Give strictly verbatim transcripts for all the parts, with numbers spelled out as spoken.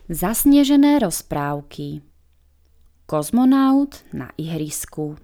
Zasnežené rozprávky. Kozmonaut na ihrisku.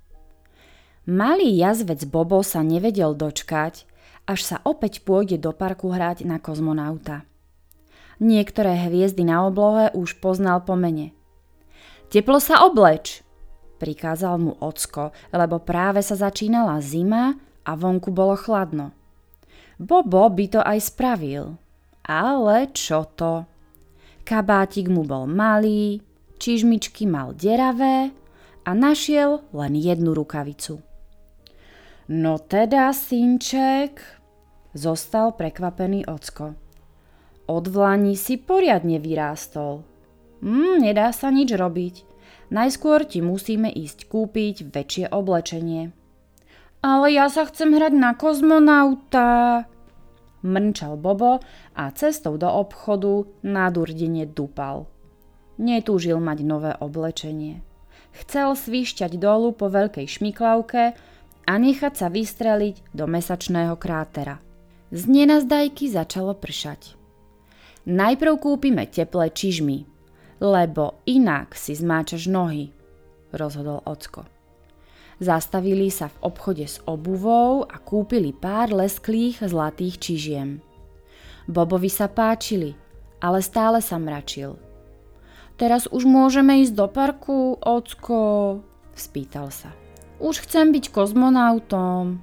Malý jazvec Bobo sa nevedel dočkať, až sa opäť pôjde do parku hrať na kozmonauta. Niektoré hviezdy na oblohe už poznal po mene. Teplo sa obleč, prikázal mu ocko, lebo práve sa začínala zima a vonku bolo chladno. Bobo by to aj spravil, ale čo to? Kabátik mu bol malý, čižmičky mal deravé a našiel len jednu rukavicu. No teda, synček, zostal prekvapený ocko. Od dlani si poriadne vyrástol. Hm, nedá sa nič robiť. Najskôr ti musíme ísť kúpiť väčšie oblečenie. Ale ja sa chcem hrať na kozmonauta, mrnčal Bobo a cestou do obchodu nadurdene dupal. Netúžil mať nové oblečenie. Chcel svišťať dolu po veľkej šmiklavke a nechať sa vystreliť do mesačného krátera. Z nenazdajky začalo pršať. Najprv kúpime teplé čižmy, lebo inak si zmáčaš nohy, rozhodol ocko. Zastavili sa v obchode s obuvou a kúpili pár lesklých zlatých čižiem. Bobovi sa páčili, ale stále sa mračil. Teraz už môžeme ísť do parku, ocko? Spýtal sa. Už chcem byť kozmonautom.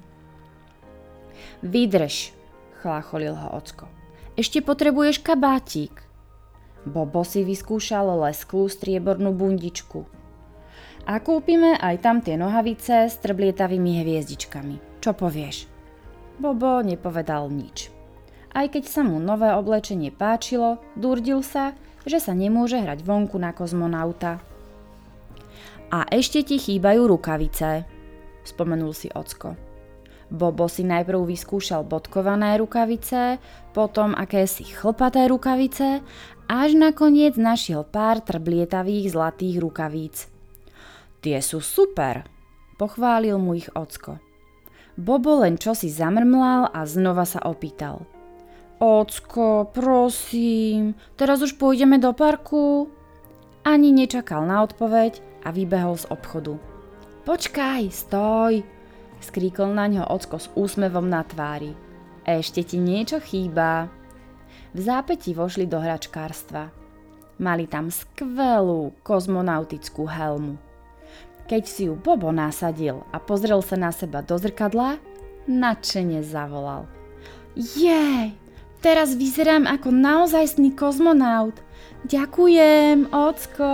Vydrž, chlácholil ho ocko. Ešte potrebuješ kabátik. Bobo si vyskúšal lesklú striebornú bundičku. A kúpime aj tam tie nohavice s trblietavými hviezdičkami. Čo povieš? Bobo nepovedal nič. Aj keď sa mu nové oblečenie páčilo, durdil sa, že sa nemôže hrať vonku na kozmonauta. A ešte ti chýbajú rukavice, spomenul si ocko. Bobo si najprv vyskúšal bodkované rukavice, potom akési chlpaté rukavice, až nakoniec našiel pár trblietavých zlatých rukavíc. Tie sú super, pochválil mu ich ocko. Bobo len čosi zamrmlal a znova sa opýtal. Ocko, prosím, teraz už pôjdeme do parku? Ani nečakal na odpoveď a vybehol z obchodu. Počkaj, stoj, skríkol na ňo ocko s úsmevom na tvári. Ešte ti niečo chýba. V zápäti vošli do hračkárstva. Mali tam skvelú kozmonautickú helmu. Keď si ju Bobo nasadil a pozrel sa na seba do zrkadla, nadšene zavolal. Jej, teraz vyzerám ako naozajstný kozmonaut. Ďakujem, ocko.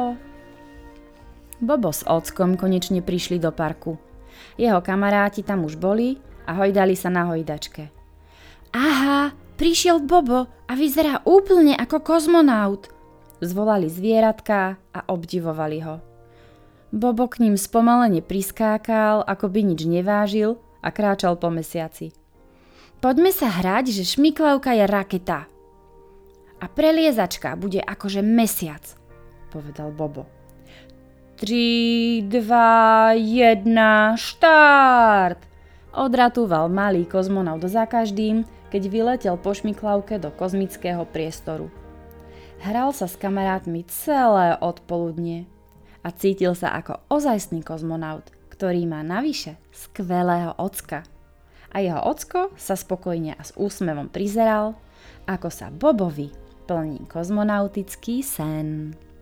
Bobo s ockom konečne prišli do parku. Jeho kamaráti tam už boli a hojdali sa na hojdačke. Aha, prišiel Bobo a vyzerá úplne ako kozmonaut, zvolali zvieratka a obdivovali ho. Bobo k ním spomalene priskákal, ako by nič nevážil a kráčal po mesiaci. Poďme sa hrať, že šmiklavka je raketa. A preliezačka bude akože mesiac, povedal Bobo. Tri, dva, jedna, štart! Odratúval malý kozmonaut za každým, keď vyletel po šmiklavke do kozmického priestoru. Hral sa s kamarátmi celé odpoludnie a cítil sa ako ozajstný kozmonaut, ktorý má navyše skvelého ocka. A jeho ocko sa spokojne a s úsmevom prizeral, ako sa Bobovi plní kozmonautický sen.